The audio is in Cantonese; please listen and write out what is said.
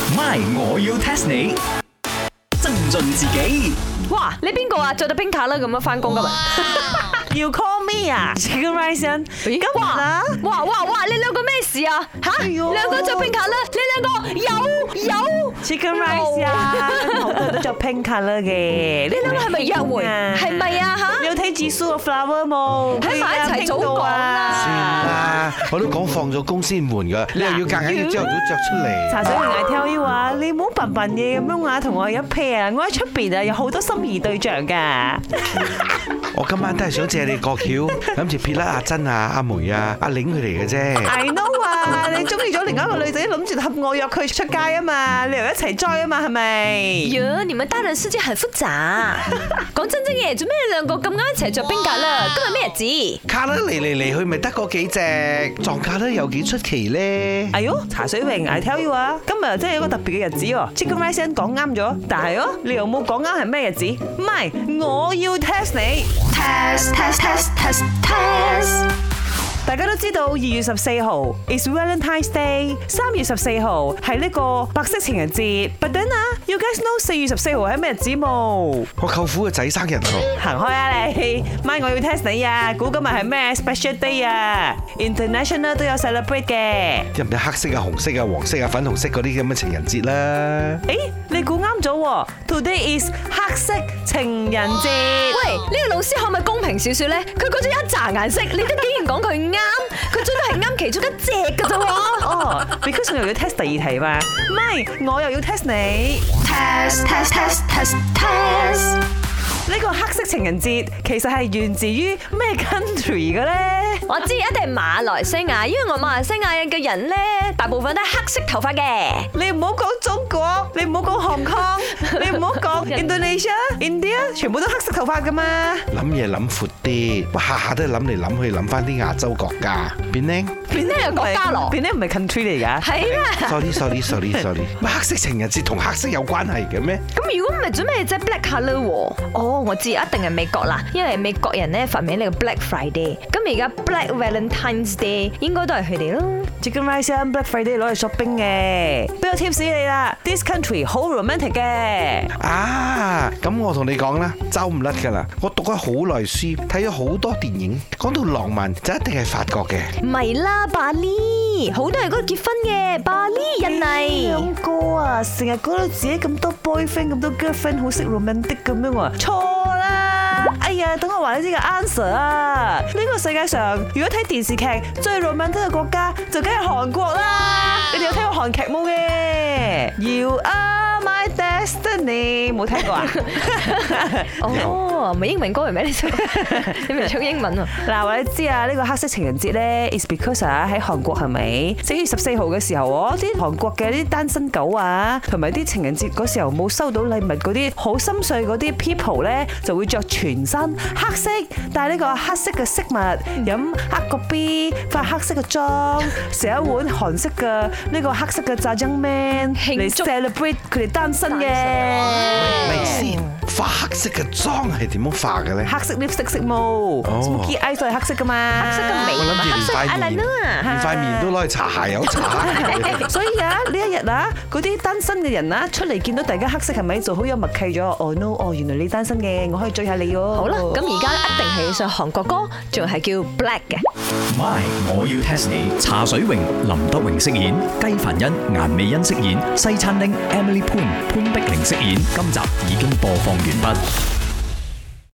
My， 我要 test 你。增進自己。 哇！你邊個啊？着到冰卡啦咁樣翻工噶嘛？ 要 call me 啊 ？Chicken Rice 今日啊！ 哇！你兩個咩事啊？吓？兩個着冰卡啦？你兩個有 Chicken Rice 啊！好多人都着 pink colour 嘅。 你兩個係咪約會？係咪啊？吓？ 有睇指數個 flower 冇？ 喺埋一齊早講啦！ 算啦，我都講放咗工先換噶，你又要夾硬要朝頭早着出嚟。 茶水榮I tell you啊，你唔好笨笨嘢咁樣啊，同我一 pair 啊！我喺出邊啊，有好多心儀對象噶。 我今晚都係想借你個橋，諗住撇甩阿珍啊、阿梅啊、阿玲佢哋嘅啫。 I know 啊，你中意咗另外一個女仔，諗住合我約佢出街啊嘛，你又一齊 join 啊嘛，係咪？ 呀，你們大人世界很複雜。講真嘅，做咩你兩個咁啱一齊着冰格啦？今日咩日子？ 卡得嚟去，咪得嗰幾隻，撞卡得有幾出奇咧？ 哎喲，茶水榮I tell you 啊，今日真係一個特別嘅日子喎。Chicken Rice 講啱咗，但係你又冇講啱係咩日子？唔係，我要 test 你。 test。 大家都知道2月14號 is Valentine's Day， 3月14號係呢個白色情人節。But then 啊 ，you guys know 4月14號係咩日子冇？ 我舅父嘅仔生日喎。 行開啊你！咪我要 test 你啊！估今日係咩 special day 啊 ？International 都有 celebrate 嘅。 有唔有黑色啊、紅色啊、黃色啊、粉紅色嗰啲咁嘅情人節啦？ 誒，你估啱咗喎 ！Today is 黑色情人節。 喂，呢個老師可唔可以公平少少咧？佢講咗一紮顏色，你都竟然講佢啱，佢最多係啱其中一隻噶啫喎。 哦，because 我又要 test 第二題嘛，唔係我又要 test 你。test。呢個黑色情人節其實係源自於咩 country 嘅咧？ 我知一定係馬來西亞，因為我馬來西亞嘅人咧，大部分都係黑色頭髮嘅。 你唔好講中國，你唔好講 Hong Kong，你唔好講 Indonesia、India， 全部都黑色頭髮噶嘛。 諗嘢諗闊啲，下下都係諗嚟諗去，諗翻啲亞洲國家。變靚係國家咯， 變靚唔係 country 嚟㗎。 係啦。 sorry。乜黑色情人節同黑色有關係嘅咩？ 咁如果唔係做咩啫 Black Colour 喎？哦，我知一定係美國啦，因為美國人咧發明呢個 Black Friday， 咁而家 Black Valentine's Day 應該都係佢哋咯。 Chicken Rice Black Friday 攞嚟 shopping 嘅，俾個 tips 你啦。This country 好 romantic 嘅。 啊，咁我同你講啦，走唔甩噶啦。我讀咗好耐書，睇咗好多電影，講到浪漫就一定係法國嘅。 唔係啦，巴黎好多人嗰度結婚嘅，巴黎印尼。 兩個啊，成日覺得自己咁多 boyfriend 咁多 girlfriend 好識 romantic 咁樣喎，錯啦！哎呀，等我話你知個 answer 啊！呢個世界上如果睇電視劇最 romantic 嘅國家就梗係韓國啦！你哋有睇過韓劇冇嘅？You are my destiny， 冇睇過啊？ 哦，唔係英文歌係咩？你咪唱英文喎。 嗱，話你知啊，呢個黑色情人節咧 is because 喺韓國係咪？4月14號嘅時候，啲韓國嘅啲單身狗啊，同埋啲情人節嗰時候冇收到禮物嗰啲好心碎嗰啲 people 咧，就會着全身黑色，戴呢個黑色嘅飾物，飲黑個 B， 化黑色嘅妝，食一碗韓式嘅呢個黑色嘅炸醬麵嚟 celebrate 佢哋單身嘅。 咪先，化黑色嘅妝係點樣化嘅咧？ 黑色 lipstick 色毛，smoky eyes 都係黑色噶嘛， 黑色嘅眉， 我諗住黑色連塊面都攞去搽下油搽。 所以啊，呢一日啊，嗰啲單身嘅人啊，出嚟見到大家黑色係咪就好有默契咗？哦 no， 哦原來你單身嘅，我可以追下你喎。 好啦，咁而家一定係上韓國歌，仲係叫 Black 嘅。 My， 我要 test 你。茶水榮、林德榮飾演，雞凡欣、顏美欣飾演，西餐廳 Emily Poon 潘碧玲飾演。今集已經播放完畢。